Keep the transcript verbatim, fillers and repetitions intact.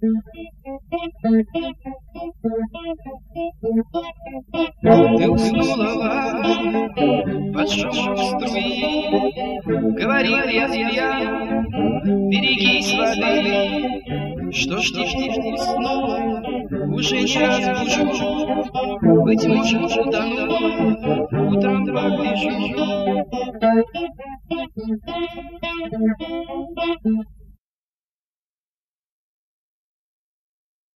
Ты уснула под шум струи, говорил я змея, берегись воды. Что ж ты уснула, уже не разбужу, быть может, утонула, утром погляжу.